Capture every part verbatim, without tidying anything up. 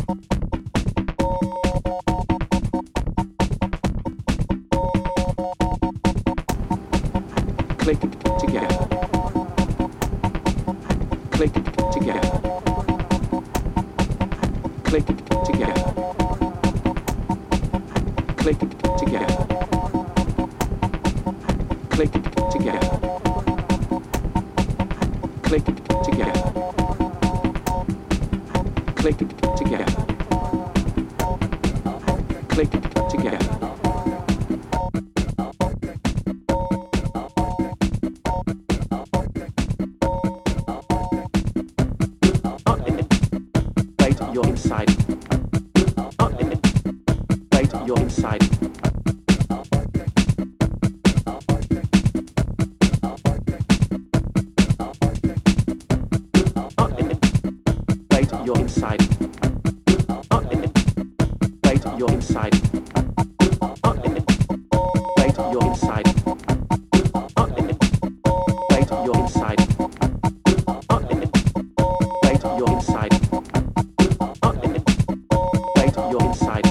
Click together. Click together. Click together. Click together. Click together. Click together. Click together. Click together. You're inside. Wait, you're inside. Wait, you're inside. Wait, you're inside. Wait, you're inside. Wait, you're inside. Wait, you're inside. Wait, you're inside.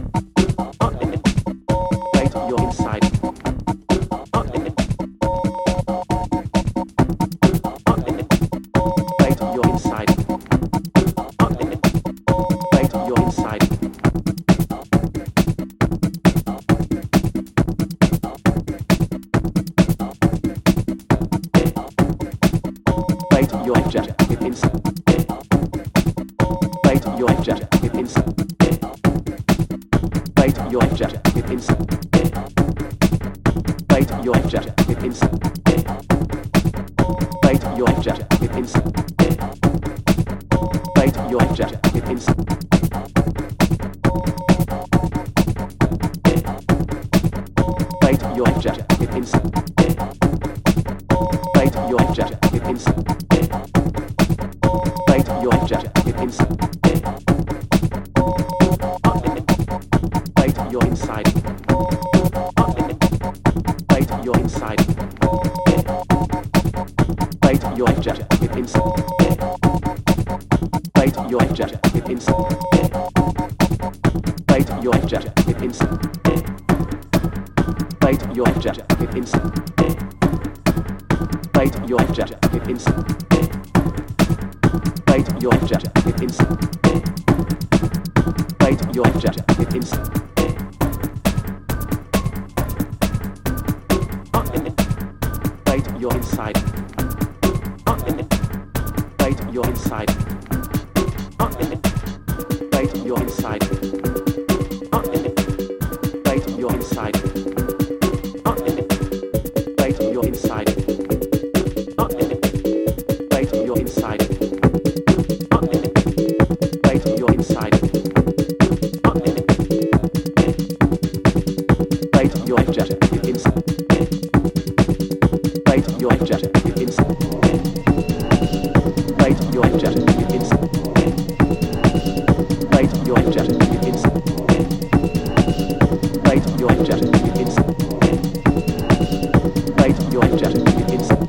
Wait, you're inside. Wait, you're inside. Wait, you're inside. Wait, you're just get inside. Wait, you're just get inside. Wait, you're just get inside. Wait, you're just get inside. Wait, you're just get inside. Wait, you're just get inside. Wait, you're just get inside. Wait, you're just get inside. Wait, you're just get inside. Wait, you're inside. Wait, you're inside. Wait, you're just get inside. Wait, you're just get inside. Wait, you're just get inside. Wait, you're just get inside. Wait, you're just get inside. Wait, you're just get inside. Wait, you're just get inside. Wait, you're inside. Wait, you're inside. Wait, you're inside. Wait, you're inside. Wait, you're inside. Wait, you're inside. Wait, you're inside. Wait, you're just get inside. Wait, you're just get inside. Wait, you're just get inside. Wait, you're just get inside. Wait, you're just get inside. Wait, you're just get inside.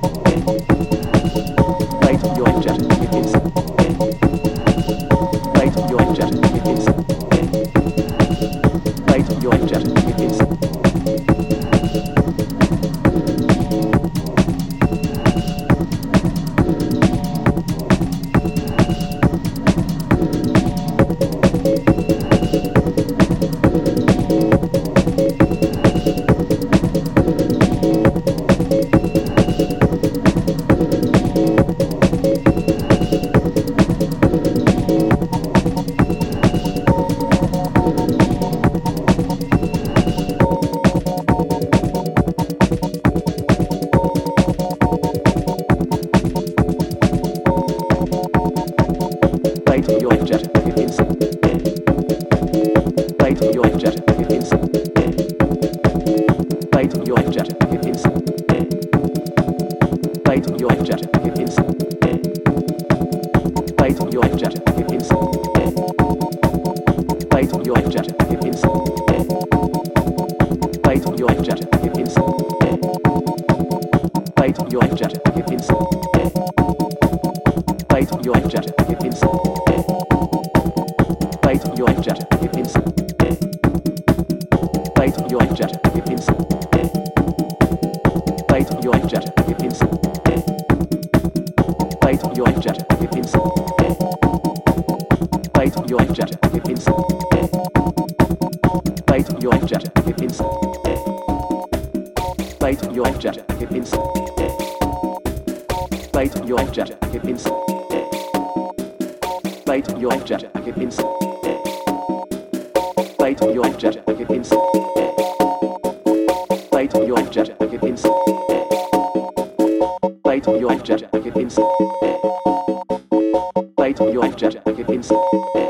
Wait, you're just get inside. Wait, you're just get inside. Wait, you're just get inside. Wait, you're just get inside. Wait, you're just get inside. Wait, you're just get inside. Wait, you're just get inside. Wait, you're just get inside. Wait, you're just get inside. Wait, you're just get inside. Wait, you're just get inside. Wait, you're just get inside. Plate your jacket inside. Plate your jacket inside. Plate your jacket inside. Plate your jacket inside. Plate your jacket inside. Plate your jacket inside. Plate your jacket inside. Plate your jacket inside. Plate your jacket inside. Plate your jacket inside. Plate your jacket inside. Plate your jacket inside. Plate your jacket inside.